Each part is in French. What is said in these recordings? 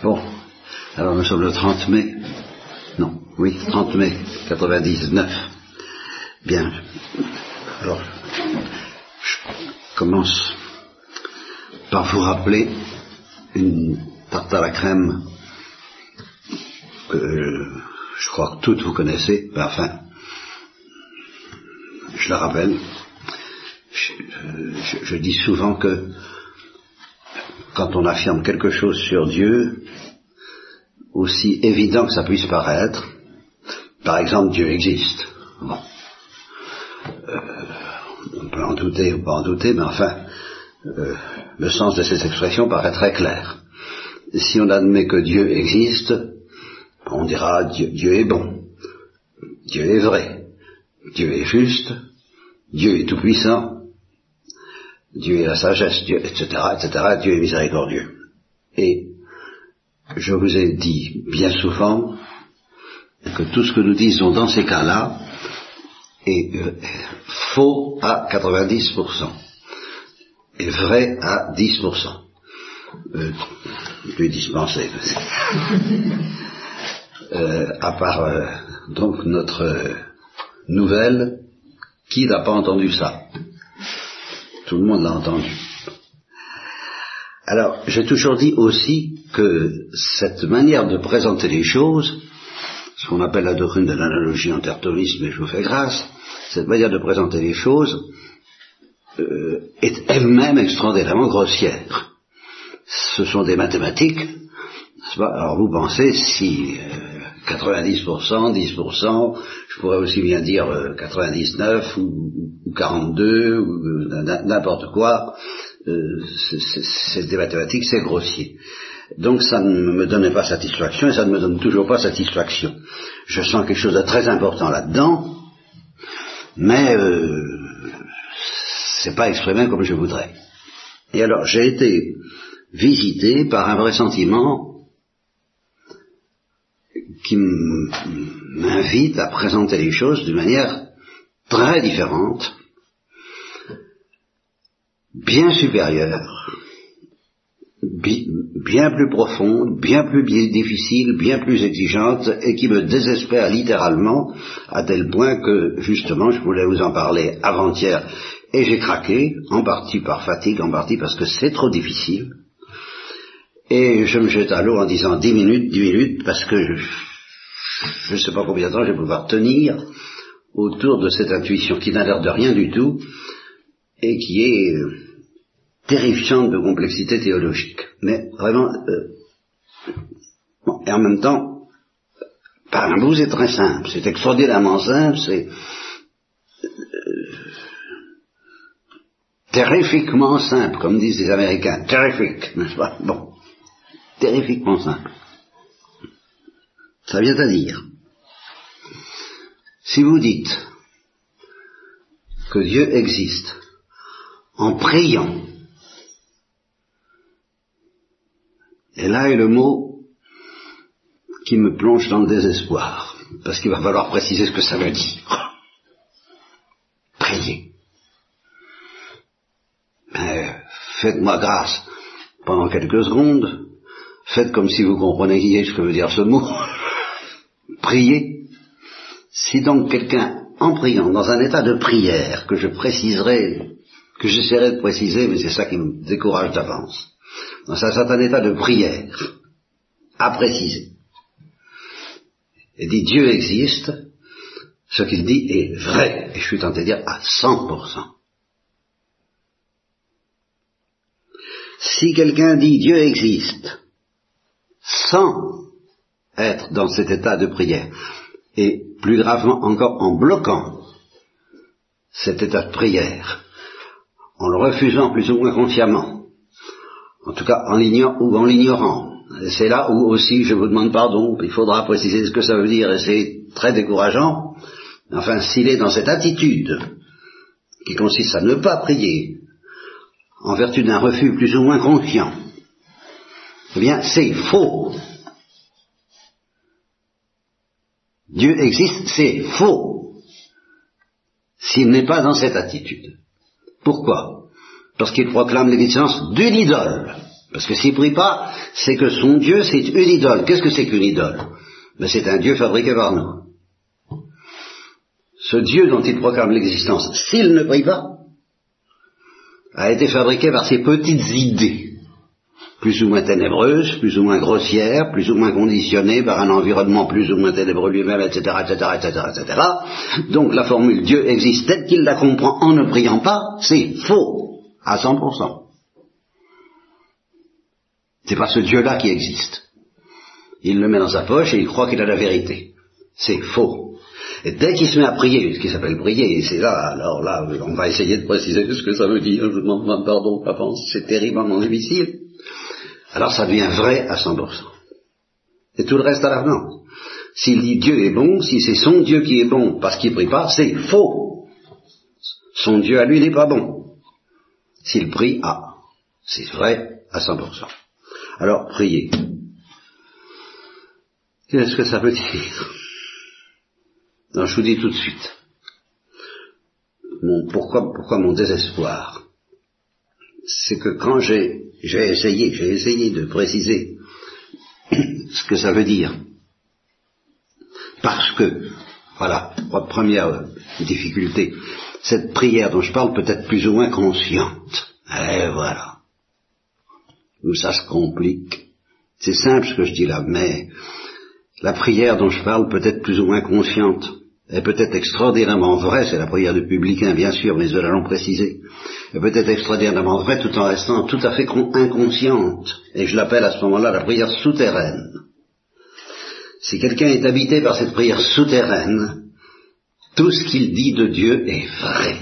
Bon, alors nous sommes le 30 mai, non, oui, 30 mai 99. Bien, alors, je commence par vous rappeler une tarte à la crème que je crois que toutes vous connaissez, mais enfin, je la rappelle. Je dis souvent que quand on affirme quelque chose sur Dieu, aussi évident que ça puisse paraître, par exemple, Dieu existe. Bon. On peut en douter ou pas en douter, mais enfin, le sens de ces expressions paraît très clair. Si on admet que Dieu existe, on dira Dieu est bon, Dieu est vrai, Dieu est juste, Dieu est tout-puissant, Dieu est la sagesse, Dieu, etc., etc., Dieu est miséricordieux. Et je vous ai dit bien souvent que tout ce que nous disons dans ces cas-là est faux à 90% et vrai à 10%. Je vais dispenser. À part donc notre nouvelle, qui n'a pas entendu ça? Tout le monde l'a entendu. Alors, j'ai toujours dit aussi que cette manière de présenter les choses, ce qu'on appelle la doctrine de l'analogie en tertonisme, et je vous fais grâce, cette manière de présenter les choses est elle-même extraordinairement grossière. Ce sont des mathématiques, n'est-ce pas? Alors vous pensez si 90%, 10%, je pourrais aussi bien dire 99 ou 42 ou n'importe quoi, c'est des mathématiques, c'est grossier. Donc ça ne me donnait pas satisfaction et ça ne me donne toujours pas satisfaction. Je sens quelque chose de très important là-dedans, mais c'est pas exprimé comme je voudrais. Et alors j'ai été visité par un vrai sentiment qui m'invite à présenter les choses d'une manière très différente, bien supérieure, bien plus profonde, bien plus difficile, bien plus exigeante, et qui me désespère littéralement, à tel point que, justement, je voulais vous en parler avant-hier, et j'ai craqué, en partie par fatigue, en partie parce que c'est trop difficile, et je me jette à l'eau en disant 10 minutes, parce que je ne sais pas combien de temps je vais pouvoir tenir autour de cette intuition qui n'a l'air de rien du tout, et qui est terrifiante de complexité théologique. Mais vraiment, bon, et en même temps, par un bout c'est très simple, c'est extraordinairement simple, c'est terrifiquement simple, comme disent les Américains, terrific, n'est-ce pas? Bon, terrifiquement simple. Ça vient à dire, si vous dites que Dieu existe en priant, et là est le mot qui me plonge dans le désespoir, parce qu'il va falloir préciser ce que ça veut dire. Prier. Faites-moi grâce pendant quelques secondes, faites comme si vous compreniez ce que veut dire ce mot. Prier. Si donc quelqu'un, en priant, dans un état de prière, que je préciserai, que j'essaierai de préciser, mais c'est ça qui me décourage d'avance, dans un certain état de prière, à préciser, et dit Dieu existe, ce qu'il dit est vrai, et je suis tenté de dire à 100%. Si quelqu'un dit Dieu existe, sans être dans cet état de prière, et plus gravement encore en bloquant cet état de prière, en le refusant plus ou moins consciemment, en tout cas en l'ignorant, et c'est là où aussi je vous demande pardon, il faudra préciser ce que ça veut dire, et c'est très décourageant, enfin s'il est dans cette attitude qui consiste à ne pas prier en vertu d'un refus plus ou moins conscient, eh bien c'est faux. Dieu existe, c'est faux, s'il n'est pas dans cette attitude. Pourquoi? Parce qu'il proclame l'existence d'une idole. Parce que s'il prie pas, c'est que son Dieu, c'est une idole. Qu'est-ce que c'est qu'une idole? Ben, c'est un Dieu fabriqué par nous. Ce Dieu dont il proclame l'existence, s'il ne prie pas, a été fabriqué par ses petites idées, plus ou moins ténébreuses, plus ou moins grossières, plus ou moins conditionnées par un environnement plus ou moins ténébreux lui-même, etc., etc., etc., etc. Donc la formule Dieu existe telle qu'il la comprend en ne priant pas, c'est faux, à 100%. C'est pas ce Dieu-là qui existe. Il le met dans sa poche et il croit qu'il a la vérité. C'est faux. Et dès qu'il se met à prier, ce qui s'appelle prier, et c'est là, alors là, on va essayer de préciser ce que ça veut dire, je demande pardon, papa, c'est terriblement difficile. Alors ça devient vrai à 100%. Et tout le reste à l'avenant. S'il dit Dieu est bon, si c'est son Dieu qui est bon parce qu'il prie pas, c'est faux. Son Dieu à lui n'est pas bon. S'il prie, c'est vrai à 100%. Alors, prier. Qu'est-ce que ça veut dire? Non, je vous dis tout de suite. Pourquoi mon désespoir? C'est que quand j'ai essayé de préciser ce que ça veut dire. Parce que, voilà, première difficulté, cette prière dont je parle peut être plus ou moins consciente. Et voilà. Où ça se complique. C'est simple ce que je dis là, mais la prière dont je parle peut être plus ou moins consciente. Elle peut être extraordinairement vraie, c'est la prière du publicain bien sûr, mais nous allons préciser. Elle peut être extraordinairement vraie tout en restant tout à fait inconsciente. Et je l'appelle à ce moment-là la prière souterraine. Si quelqu'un est habité par cette prière souterraine, tout ce qu'il dit de Dieu est vrai.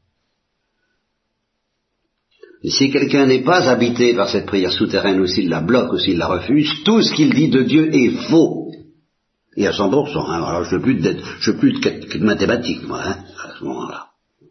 Et si quelqu'un n'est pas habité par cette prière souterraine, ou s'il la bloque, ou s'il la refuse, tout ce qu'il dit de Dieu est faux. Et à 100%, hein, alors je veux plus de mathématiques, moi, hein, à ce moment-là.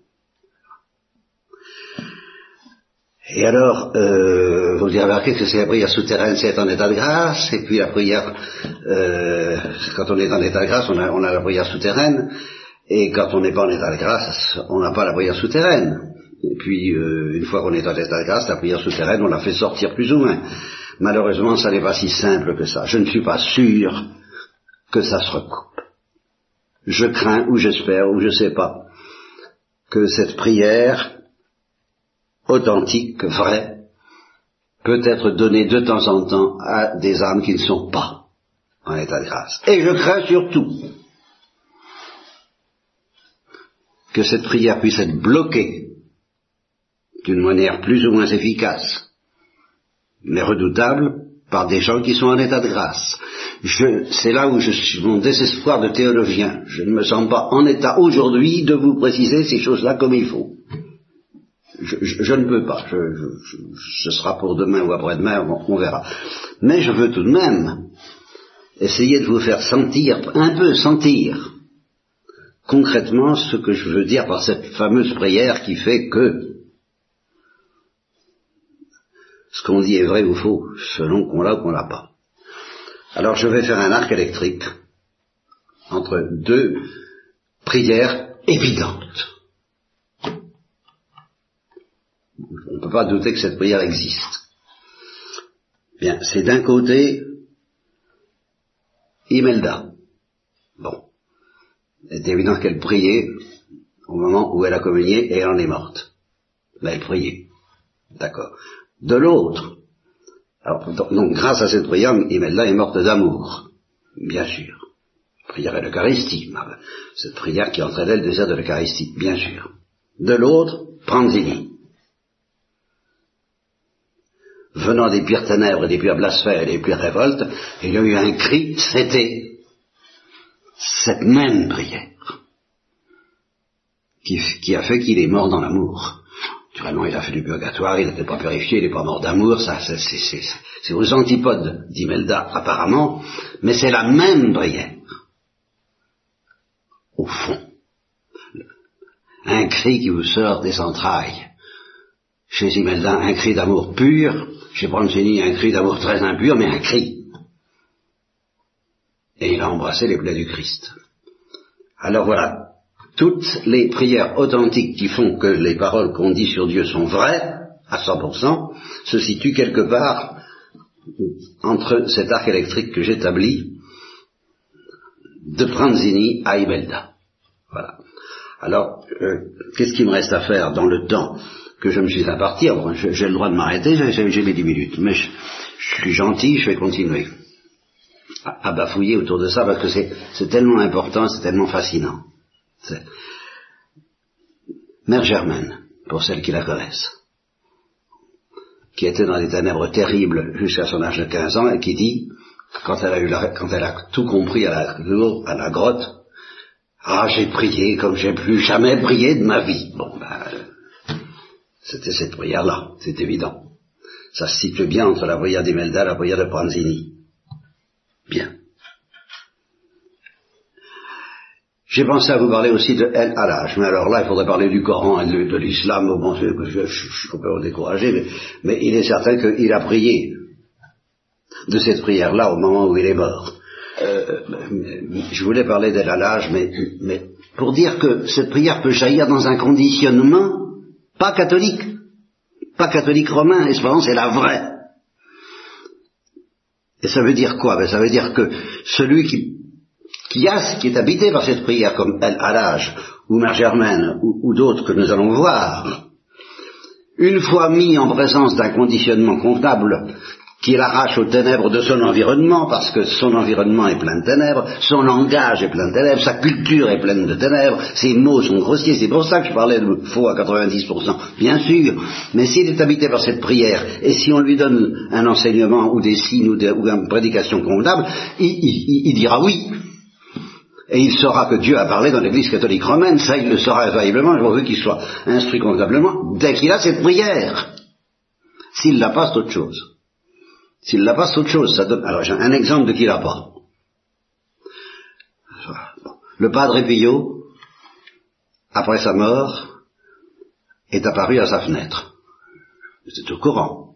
Et alors, vous avez remarqué que c'est la prière souterraine, c'est en état de grâce, et puis la prière, quand on est en état de grâce, on a la prière souterraine, et quand on n'est pas en état de grâce, on n'a pas la prière souterraine. Et puis, une fois qu'on est en état de grâce, la prière souterraine, on la fait sortir plus ou moins. Malheureusement, ça n'est pas si simple que ça. Je ne suis pas sûr que ça se recoupe. Je crains, ou j'espère, ou je ne sais pas, que cette prière authentique, vraie, peut être donnée de temps en temps à des âmes qui ne sont pas en état de grâce. Et je crains surtout que cette prière puisse être bloquée d'une manière plus ou moins efficace, mais redoutable, par des gens qui sont en état de grâce. C'est là où je suis mon désespoir de théologien. Je ne me sens pas en état aujourd'hui de vous préciser ces choses-là comme il faut. Je ne peux pas. Ce sera pour demain ou après-demain, on verra. Mais je veux tout de même essayer de vous faire sentir, un peu sentir, concrètement ce que je veux dire par cette fameuse prière qui fait que ce qu'on dit est vrai ou faux, selon qu'on l'a ou qu'on l'a pas. Alors je vais faire un arc électrique entre deux prières évidentes. On ne peut pas douter que cette prière existe. Bien, c'est d'un côté Imelda. Bon, c'est évident qu'elle priait au moment où elle a communié et elle en est morte. Mais elle priait. D'accord. De l'autre, alors, donc grâce à cette prière, Imelda est morte d'amour, bien sûr. Prière à l'Eucharistie, cette prière qui entraînait le désir de l'Eucharistie, bien sûr. De l'autre, Pranzini. Venant des pires ténèbres, des pires blasphèmes et des pires révoltes, il y a eu un cri, c'était cette même prière qui a fait qu'il est mort dans l'amour. Naturellement, il a fait du purgatoire, il n'était pas purifié, il n'est pas mort d'amour, ça c'est aux antipodes d'Imelda apparemment, mais c'est la même prière. Au fond, un cri qui vous sort des entrailles. Chez Imelda, un cri d'amour pur, chez Pranzini, un cri d'amour très impur, mais un cri. Et il a embrassé les plaies du Christ. Alors voilà. Toutes les prières authentiques qui font que les paroles qu'on dit sur Dieu sont vraies, à 100%, se situe quelque part entre cet arc électrique que j'établis de Pranzini à Imelda. Voilà. Alors, qu'est-ce qu'il me reste à faire dans le temps que je me suis imparti? Alors, j'ai le droit de m'arrêter, j'ai mes 10 minutes, mais je suis gentil, je vais continuer à bafouiller autour de ça, parce que c'est tellement important, c'est tellement fascinant. Mère Germaine, pour celles qui la connaissent, qui était dans des ténèbres terribles jusqu'à son âge de 15 ans, et qui dit, quand elle a tout compris à la grotte, ah, j'ai prié comme j'ai plus jamais prié de ma vie. Bon, c'était cette prière-là, c'est évident. Ça se situe bien entre la prière d'Imelda et la prière de Pranzini. Bien. J'ai pensé à vous parler aussi de El Halaj, mais alors là, il faudrait parler du Coran et de l'islam. Bon, je suis complètement découragé, mais il est certain qu'il a prié de cette prière-là au moment où il est mort. Je voulais parler d'El Halaj, mais pour dire que cette prière peut jaillir dans un conditionnement pas catholique romain, et cependant c'est la vraie. Et ça veut dire quoi? Ça veut dire que celui qui est habité par cette prière, comme El Halaj, ou Mère Germaine, ou d'autres que nous allons voir, une fois mis en présence d'un conditionnement convenable qui l'arrache aux ténèbres de son environnement, parce que son environnement est plein de ténèbres, son langage est plein de ténèbres, sa culture est pleine de ténèbres, ses mots sont grossiers, c'est pour ça que je parlais de faux à 90%, bien sûr, mais s'il est habité par cette prière, et si on lui donne un enseignement, ou des signes, ou une prédication convenable, il dira oui. Et il saura que Dieu a parlé dans l'Église catholique romaine, ça il le saura infailliblement, je veux qu'il soit instruit convenablement, dès qu'il a cette prière. S'il l'a pas, c'est autre chose. S'il l'a pas, c'est autre chose. Ça donne... Alors j'ai un exemple de qui l'a pas. Le Padre Pio, après sa mort, est apparu à sa fenêtre. C'est au courant.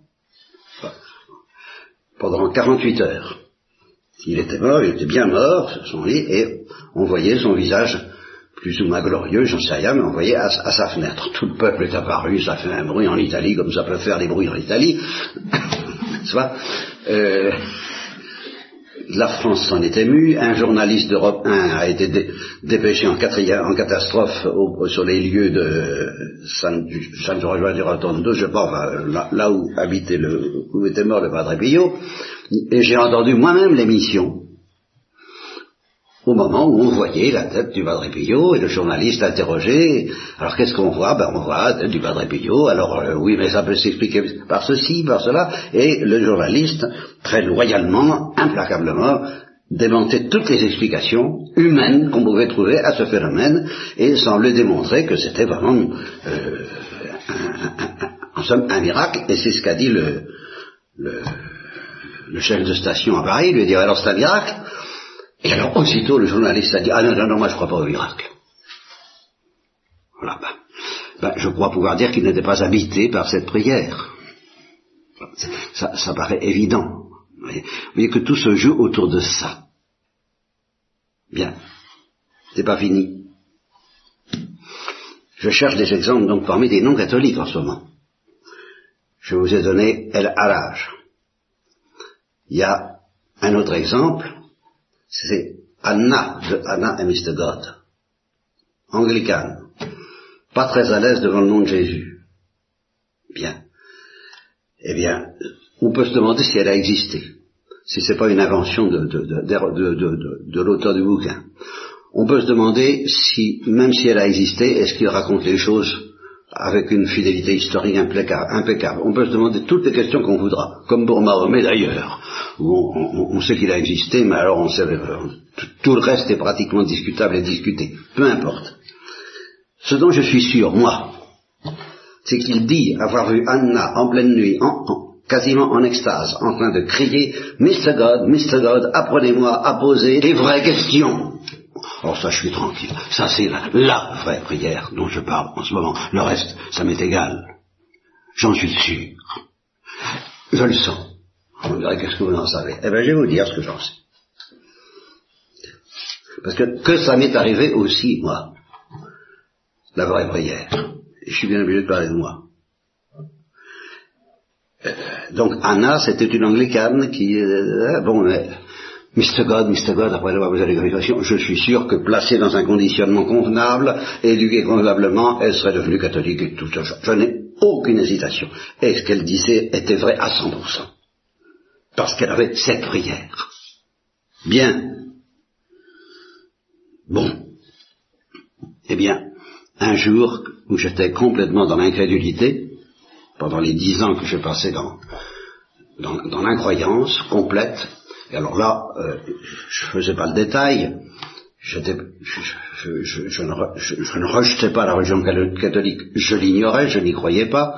Pendant 48 heures. Il était mort, il était bien mort, sur son lit, et on voyait son visage plus ou moins glorieux, j'en sais rien, mais on voyait à sa fenêtre. Tout le peuple est apparu, ça fait un bruit en Italie, comme ça peut faire des bruits en Italie. La France s'en est émue, un journaliste d'Europe 1 a été dépêché en catastrophe sur les lieux de San Giorgio di Rotondo, je pense, là où était mort le Padre Pio, et j'ai entendu moi-même l'émission au moment où on voyait la tête du Padre Pio, et le journaliste interrogeait. Alors qu'est-ce qu'on voit? On voit la tête du Padre Pio. Alors oui, mais ça peut s'expliquer par ceci, par cela. Et le journaliste, très loyalement, implacablement, démentait toutes les explications humaines qu'on pouvait trouver à ce phénomène, et semblait démontrer que c'était vraiment en somme un miracle. Et c'est ce qu'a dit le chef de station à Paris. Il lui a dit, alors c'est un miracle? Et alors, aussitôt, le journaliste a dit, ah non, moi je crois pas au miracle. Voilà, je crois pouvoir dire qu'il n'était pas habité par cette prière. Ça paraît évident. Vous voyez que tout se joue autour de ça. Bien. C'est pas fini. Je cherche des exemples, donc, parmi des non-catholiques en ce moment. Je vous ai donné El Halaj. Il y a un autre exemple, c'est Anna, de Anna and Mr. God, anglicane, pas très à l'aise devant le nom de Jésus. Bien. Eh bien, on peut se demander si elle a existé, si c'est pas une invention de l'auteur du bouquin. On peut se demander si, même si elle a existé, est-ce qu'il raconte les choses avec une fidélité historique impeccable. On peut se demander toutes les questions qu'on voudra, comme pour Mahomet d'ailleurs, où on sait qu'il a existé, mais alors on sait, tout le reste est pratiquement discutable et discuté. Peu importe. Ce dont je suis sûr, moi, c'est qu'il dit avoir vu Anna en pleine nuit, quasiment en extase, en train de crier « Mr. God, apprenez-moi à poser les vraies questions !» Oh, ça, je suis tranquille. Ça, c'est la vraie prière dont je parle en ce moment. Le reste, ça m'est égal. J'en suis sûr. Je le sens. On dirait, qu'est-ce que vous en savez? Eh bien, je vais vous dire ce que j'en sais. Parce que ça m'est arrivé aussi, moi, la vraie prière. Et je suis bien obligé de parler de moi. Donc Anna, c'était une anglicane qui... Mr. God, après avoir posé les questions, je suis sûr que placée dans un conditionnement convenable, éduquée convenablement, elle serait devenue catholique et tout ça. Je n'ai aucune hésitation. Et ce qu'elle disait était vrai à 100%. Parce qu'elle avait cette prière. Bien. Bon. Eh bien, un jour où j'étais complètement dans l'incrédulité, pendant les 10 ans que je passais dans l'incroyance complète, et alors là, je faisais pas le détail, je ne rejetais pas la religion catholique, je l'ignorais, je n'y croyais pas,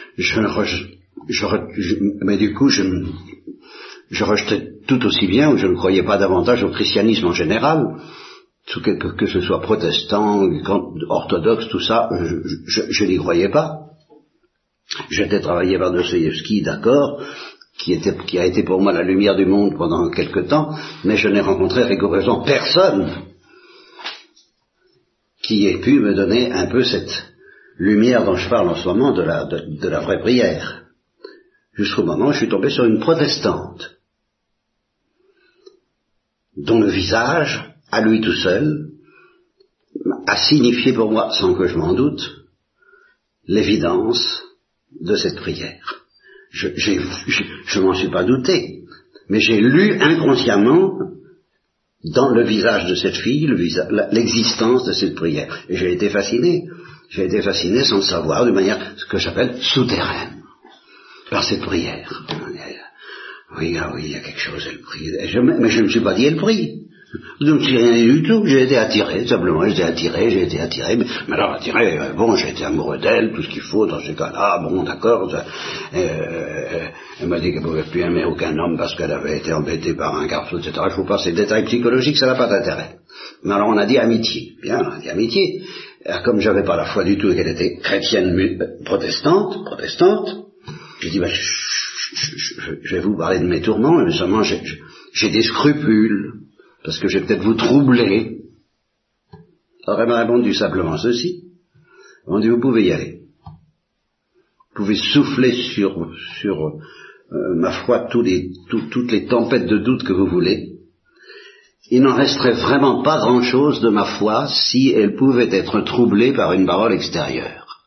mais du coup, je rejetais tout aussi bien, ou je ne croyais pas davantage au christianisme en général, que ce soit protestant, orthodoxe, tout ça, je n'y croyais pas. J'étais travaillé par Dostoïevski, d'accord, qui a été pour moi la lumière du monde pendant quelque temps, mais je n'ai rencontré rigoureusement personne qui ait pu me donner un peu cette lumière dont je parle en ce moment de la vraie prière. Jusqu'au moment où je suis tombé sur une protestante, dont le visage, à lui tout seul, a signifié pour moi, sans que je m'en doute, l'évidence de cette prière. Je m'en suis pas douté, mais j'ai lu inconsciemment dans le visage de cette fille l'existence de cette prière. Et j'ai été fasciné sans le savoir, de manière, ce que j'appelle souterraine, par cette prière. Oui, il y a quelque chose, elle prie. Mais je ne me suis pas dit, elle prie. Je ne me suis rien du tout, j'ai été attiré, simplement, j'ai été attiré, mais alors attiré, j'ai été amoureux d'elle, tout ce qu'il faut dans ce cas-là, d'accord, elle m'a dit qu'elle ne pouvait plus aimer aucun homme parce qu'elle avait été embêtée par un garçon, etc. Je vous passe ces détails psychologiques, ça n'a pas d'intérêt. Mais alors on a dit amitié, bien, on a dit amitié, alors, comme j'avais pas la foi du tout et qu'elle était chrétienne protestante, j'ai dit, je vais vous parler de mes tourments, mais seulement j'ai des scrupules, parce que je vais peut-être vous troubler. Alors elle m'a répondu simplement ceci. Elle m'a dit, vous pouvez y aller. Vous pouvez souffler sur ma foi toutes les tempêtes de doute que vous voulez. Il n'en resterait vraiment pas grand-chose de ma foi si elle pouvait être troublée par une parole extérieure.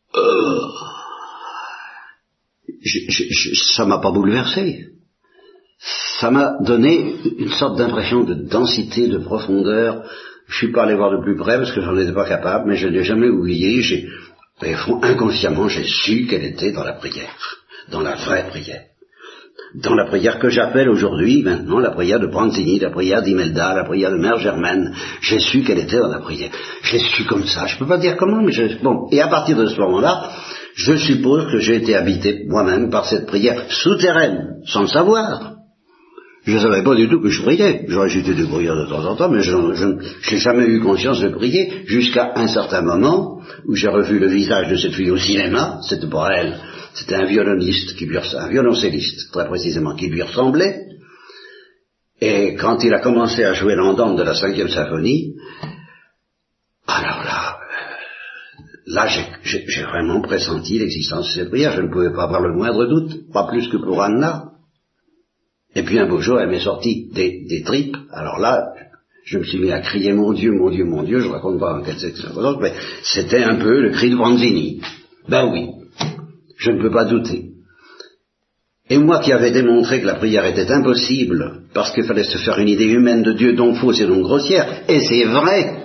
Ça m'a pas bouleversé. Ça m'a donné une sorte d'impression de densité, de profondeur. Je suis pas allé voir de plus près parce que j'en étais pas capable, mais je ne l'ai jamais oublié. Inconsciemment, j'ai su qu'elle était dans la prière, dans la vraie prière. Dans la prière que j'appelle aujourd'hui, maintenant, la prière de Pranzini, la prière d'Imelda, la prière de Mère Germaine, j'ai su qu'elle était dans la prière. Je l'ai su comme ça, je peux pas dire comment, mais et à partir de ce moment-là, je suppose que j'ai été habité moi-même par cette prière souterraine, sans le savoir. Je ne savais pas du tout que je priais. J'aurais jeté des prières de temps en temps, mais je n'ai jamais eu conscience de prier jusqu'à un certain moment où j'ai revu le visage de cette fille au cinéma. C'était pas elle, c'était un violoniste, un violoncelliste, très précisément, qui lui ressemblait. Et quand il a commencé à jouer l'andante de la 5e symphonie, alors là, j'ai vraiment pressenti l'existence de cette prière. Je ne pouvais pas avoir le moindre doute, pas plus que pour Anna. Et puis un beau jour, elle m'est sortie des tripes. Alors là, je me suis mis à crier mon Dieu, mon Dieu, mon Dieu. Je raconte pas en quelle circonstance, mais c'était un peu le cri de Pranzini. Ben oui, je ne peux pas douter. Et moi qui avais démontré que la prière était impossible, parce qu'il fallait se faire une idée humaine de Dieu, donc fausse et donc grossière, et c'est vrai,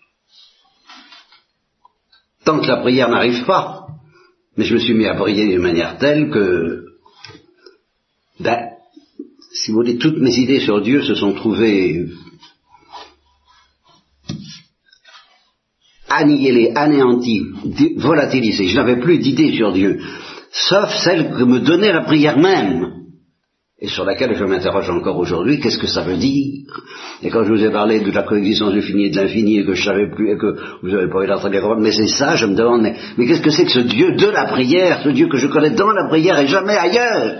tant que la prière n'arrive pas. Mais je me suis mis à prier d'une manière telle que, si vous voulez, toutes mes idées sur Dieu se sont trouvées annihilées, anéanties, volatilisées. Je n'avais plus d'idées sur Dieu, sauf celle que me donnait la prière même, et sur laquelle je m'interroge encore aujourd'hui. Qu'est-ce que ça veut dire? Et quand je vous ai parlé de la coexistence du fini et de l'infini, et que je savais plus, et que vous n'avez pas eu l'air très bien comprendre, mais c'est ça, je me demande, mais qu'est-ce que c'est que ce Dieu de la prière, ce Dieu que je connais dans la prière et jamais ailleurs?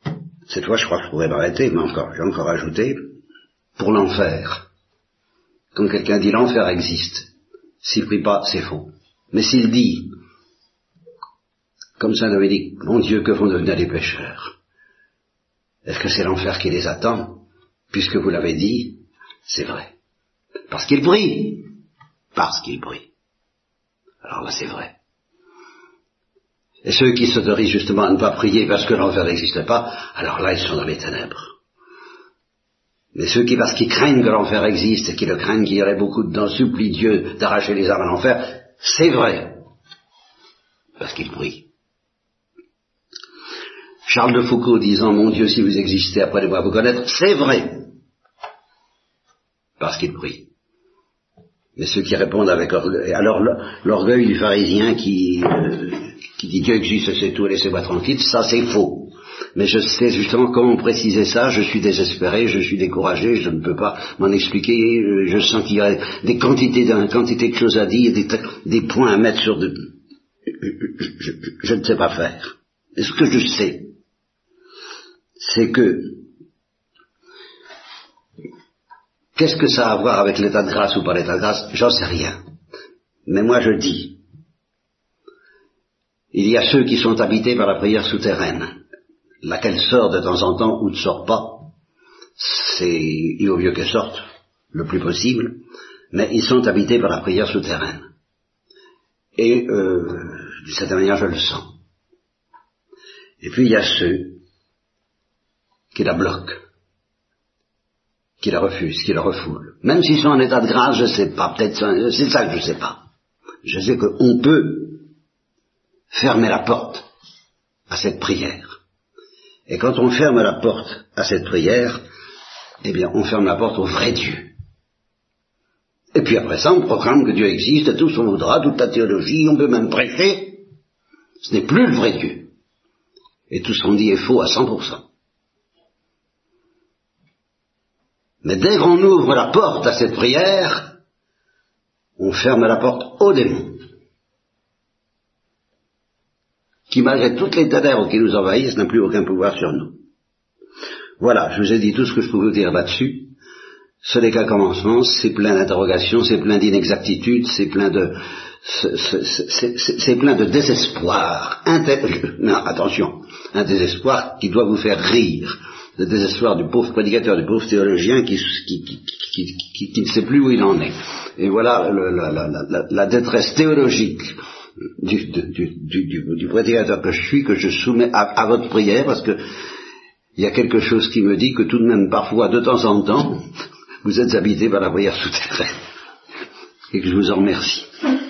Cette fois, je crois que je pourrais m'arrêter, mais j'ai encore ajouté, pour l'enfer. Quand quelqu'un dit l'enfer existe, s'il prie pas, c'est faux. Mais s'il dit, comme saint Dominique, mon Dieu, que vont devenir les pécheurs? Est-ce que c'est l'enfer qui les attend? Puisque vous l'avez dit, c'est vrai. Parce qu'il prie. Parce qu'il prie. Alors là, c'est vrai. Et ceux qui s'autorisent justement à ne pas prier parce que l'enfer n'existe pas, alors là, ils sont dans les ténèbres. Mais ceux qui, parce qu'ils craignent que l'enfer existe et qui le craignent, qu'il y aurait beaucoup dedans, supplient Dieu d'arracher les âmes à l'enfer, c'est vrai. Parce qu'ils prient. Charles de Foucault disant, mon Dieu, si vous existez, apprenez-moi à vous connaître, c'est vrai. Parce qu'ils prient. Mais ceux qui répondent avec orgueil, alors l'orgueil du pharisien qui dit Dieu existe, c'est tout, laissez-moi tranquille, ça c'est faux. Mais je sais justement comment préciser ça, je suis désespéré, je suis découragé, je ne peux pas m'en expliquer, je sens qu'il y a des quantités de choses à dire, des points à mettre sur de... Je ne sais pas faire. Et ce que je sais, c'est que qu'est-ce que ça a à voir avec l'état de grâce ou pas l'état de grâce? J'en sais rien. Mais moi je dis, il y a ceux qui sont habités par la prière souterraine, laquelle sort de temps en temps ou ne sort pas. Il vaut mieux qu'elle sorte le plus possible, mais ils sont habités par la prière souterraine. Et d'une certaine manière je le sens. Et puis il y a ceux qui la bloquent, qui la refusent, qui la refoulent. Même s'ils sont en état de grâce, je ne sais pas, peut-être c'est ça que je ne sais pas. Je sais qu'on peut fermer la porte à cette prière. Et quand on ferme la porte à cette prière, eh bien on ferme la porte au vrai Dieu. Et puis après ça, on proclame que Dieu existe, tout ce qu'on voudra, toute la théologie, on peut même prêcher. Ce n'est plus le vrai Dieu. Et tout ce qu'on dit est faux à 100%. Mais dès qu'on ouvre la porte à cette prière, on ferme la porte aux démons, qui malgré toutes les ténèbres qui nous envahissent, n'ont plus aucun pouvoir sur nous. Voilà, je vous ai dit tout ce que je peux vous dire là-dessus. Ce n'est qu'un commencement, c'est plein d'interrogations, c'est plein d'inexactitudes, c'est plein de désespoir. Non, attention, un désespoir qui doit vous faire rire. Le désespoir du pauvre prédicateur, du pauvre théologien qui ne sait plus où il en est. Et voilà la détresse théologique du prédicateur que je suis, que je soumets à votre prière, parce que il y a quelque chose qui me dit que tout de même parfois, de temps en temps, vous êtes habité par la prière souterraine. Et que je vous en remercie.